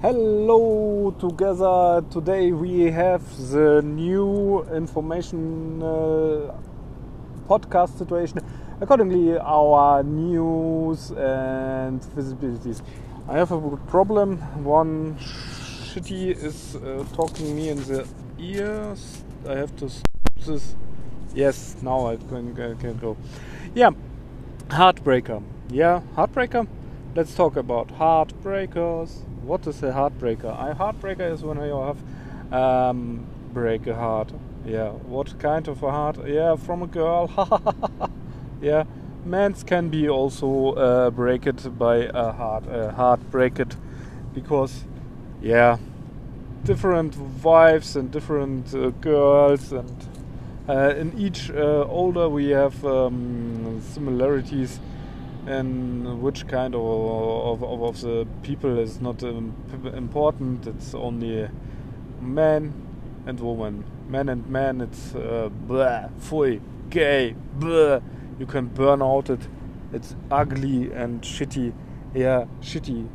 Hello together. Today we have the new information podcast situation. Accordingly, our news and visibilities. I have a problem. One shitty is talking me in the ears. I have to stop this. Yes, now I can go. Yeah, Heartbreaker. Yeah, Heartbreaker. Let's talk about heartbreakers. What is a heartbreaker? A heartbreaker is when you have break a heart. Yeah, what kind of a heart? Yeah, from a girl. Yeah, men's can be also break it by a heart break it, because yeah, different wives and different girls, and in each older we have similarities. And which kind of the people is not important. It's only man and woman. Man and man, it's blah, pfui, gay, blah. You can burn out it. It's ugly and shitty. Yeah, shitty.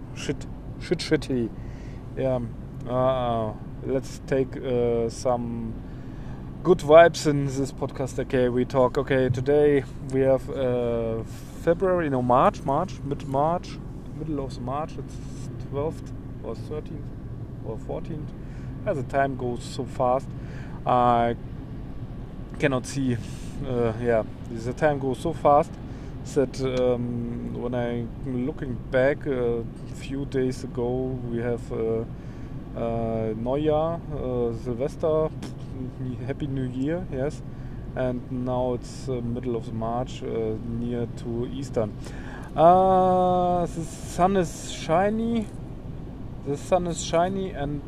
Yeah. Let's take some good vibes in this podcast. Okay, we talk. Okay, today we have February, mid-March, middle of the March. It's 12th or 13th or 14th. As the time goes so fast, I cannot see. The time goes so fast that when I'm looking back, a few days ago we have Neujahr, Silvester, Happy New Year, yes. And now it's middle of March, near to Easter. The sun is shiny. And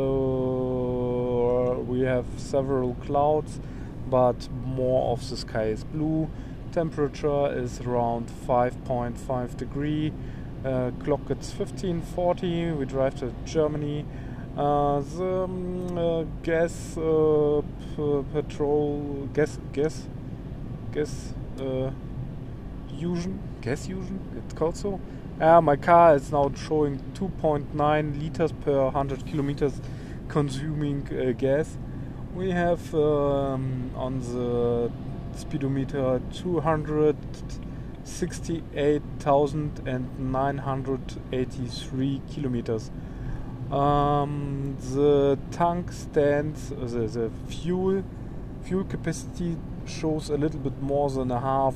we have several clouds, but more of the sky is blue. Temperature is around 5.5 degree. Clock it's 15:40. We drive to Germany. The gas fusion, it's called so. My car is now showing 2.9 liters per 100 kilometers consuming gas. We have on the speedometer 268,983 kilometers. The tank stands, the fuel capacity shows a little bit more than a half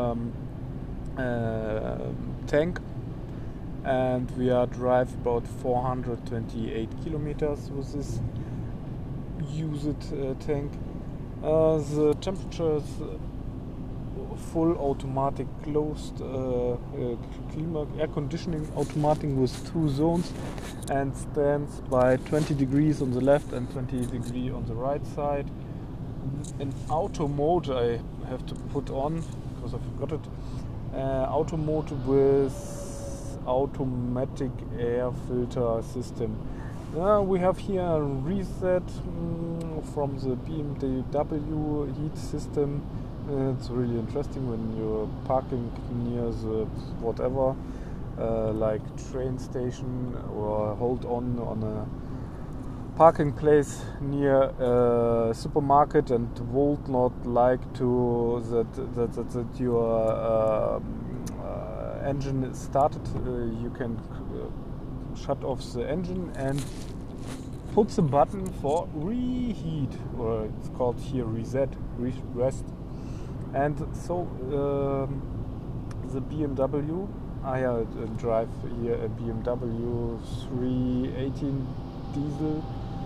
tank, and we are drive about 428 kilometers with this used tank. The temperature is full automatic closed air conditioning automatic with 2 zones, and stands by 20 degrees on the left and 20 degrees on the right side. In auto mode I have to put on because I forgot it. Auto mode with automatic air filter system. We have here a reset from the BMW heat system. It's really interesting when you're parking near the whatever, like train station, or hold on a parking place near a supermarket, and would not like to that your engine is started. You can shut off the engine and put the button for reheat, or it's called here reset, rest. And so the BMW, I drive here a BMW 318 diesel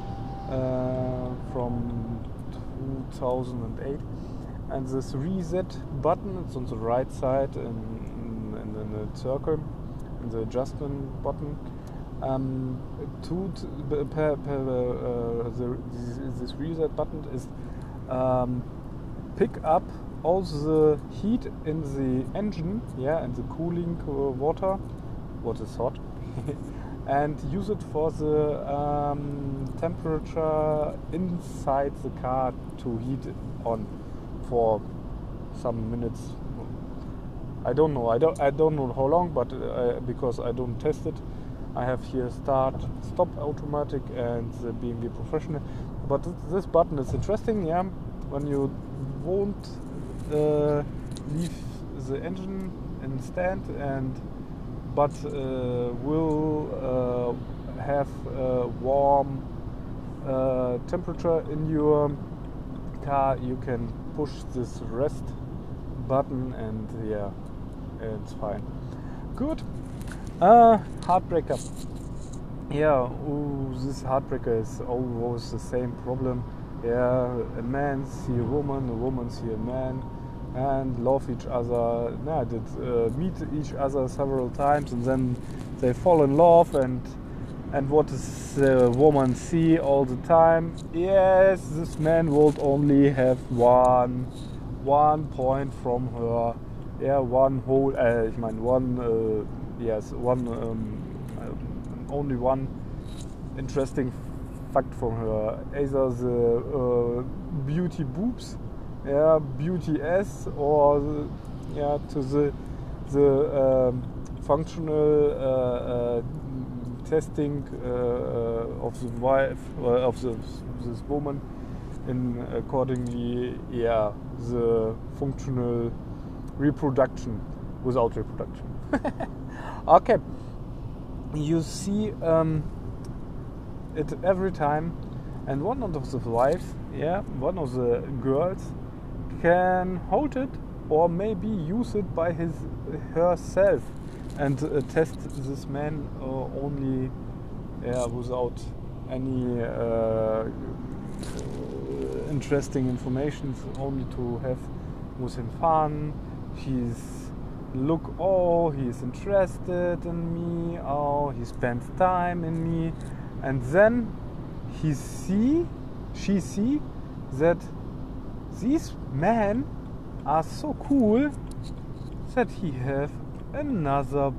from 2008, and this reset button, it's on the right side in the circle, in the adjustment button. This reset button is pick up all the heat in the engine, and the cooling water, what is hot, and use it for the temperature inside the car to heat it on for some minutes. I don't know how long, but because I don't test it, I have here start, stop automatic and the BMW professional. But this button is interesting, yeah. When you won't leave the engine in stand but will have warm temperature in your car, you can push this rest button and yeah, it's fine. Good. Heartbreaker. Yeah, this heartbreaker is always the same problem. Yeah, a man see a woman see a man, and love each other. Yeah, meet each other several times, and then they fall in love. And what does the woman see all the time? Yes, this man would only have one point from her. Yeah, one whole. Only one interesting fact from her. Either the beauty boobs, yeah, beauty ass, or to the functional testing of the wife of this woman, in accordingly, yeah, the functional reproduction without reproduction. Okay. You see it every time, and one of the wives, yeah, one of the girls can hold it or maybe use it by herself and test this man only without any interesting information, only to have with him fun. He's interested in me, he spends time in me, and then she see that these men are so cool that he have another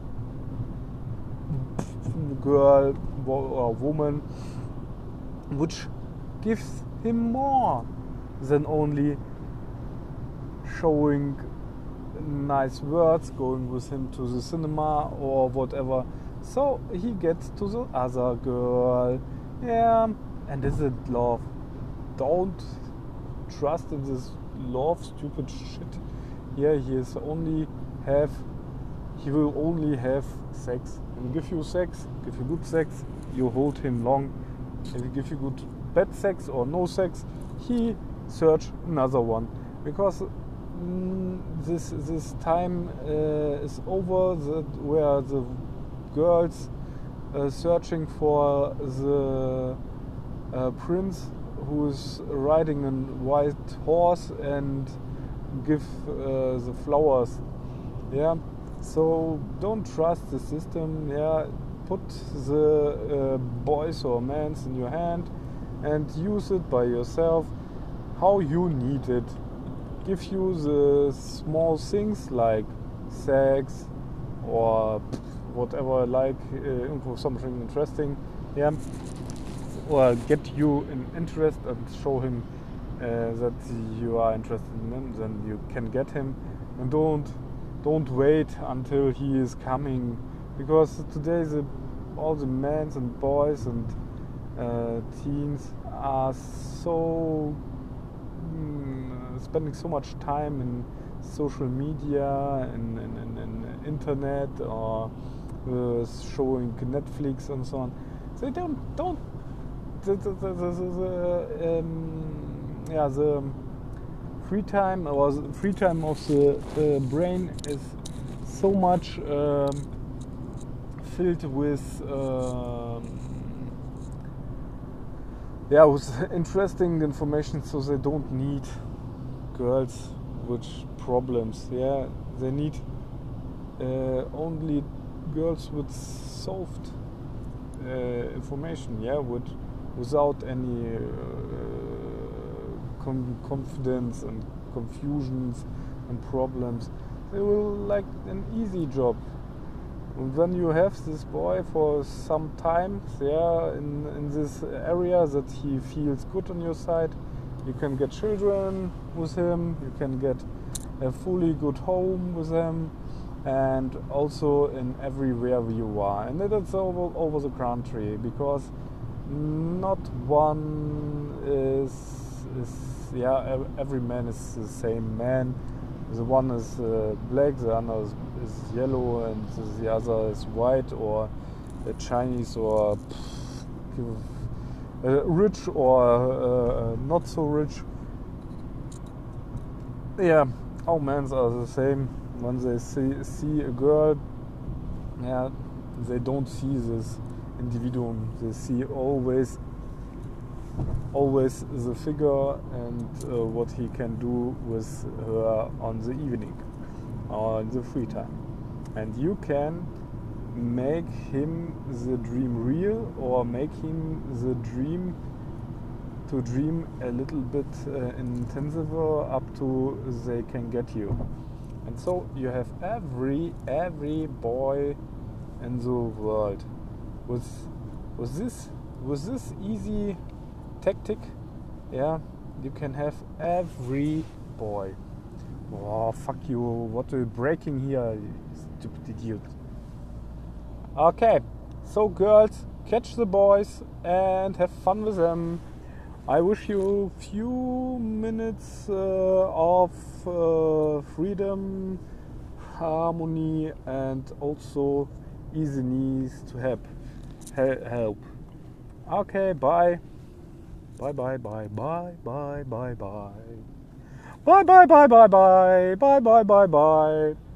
girl or woman which gives him more than only showing nice words, going with him to the cinema or whatever. So he gets to the other girl. Yeah, and is it love? Don't trust in this love stupid shit. Yeah, he will only have sex. And give you sex, give you good sex, you hold him long. If he give you good bad sex or no sex, he search another one, because this time is over, where the girls searching for the prince who is riding a white horse and give the flowers. Yeah, so don't trust the system. Yeah, put the boys or mans in your hand and use it by yourself how you need it. Give you the small things like sex or whatever, like something interesting, yeah, or get you an interest and show him that you are interested in him. Then you can get him, and don't wait until he is coming, because today all the men and boys and teens are so spending so much time in social media and internet, or showing Netflix and so on. They don't the free time, or the free time of the brain is so much filled with with interesting information, so they don't need girls with problems. Yeah, they need only girls with soft information. Yeah, without any confidence and confusions and problems. They will like an easy job. And when you have this boy for some time, in this area that he feels good on your side, you can get children with him, you can get a fully good home with him, and also in everywhere you are, and it's over the country, because not one is yeah, every man is the same man. The one is black, the other is yellow, and the other is white, or Chinese, or rich, or not so rich. Yeah, all men are the same. When they see a girl, yeah, they don't see this individuum. They see always the figure and what he can do with her on the evening or in the free time. And you can make him the dream real, or make him the dream to dream a little bit intensiver, up to they can get you. And so you have every boy in the world with this easy tactic. Yeah, you can have every boy. Oh, fuck you, what are you breaking here, you stupid idiot. Okay, so girls, catch the boys and have fun with them. I wish you a few minutes of freedom, harmony, and also easiness to help. Okay, bye. Bye bye bye bye bye bye bye. Bye bye bye bye bye bye bye bye bye.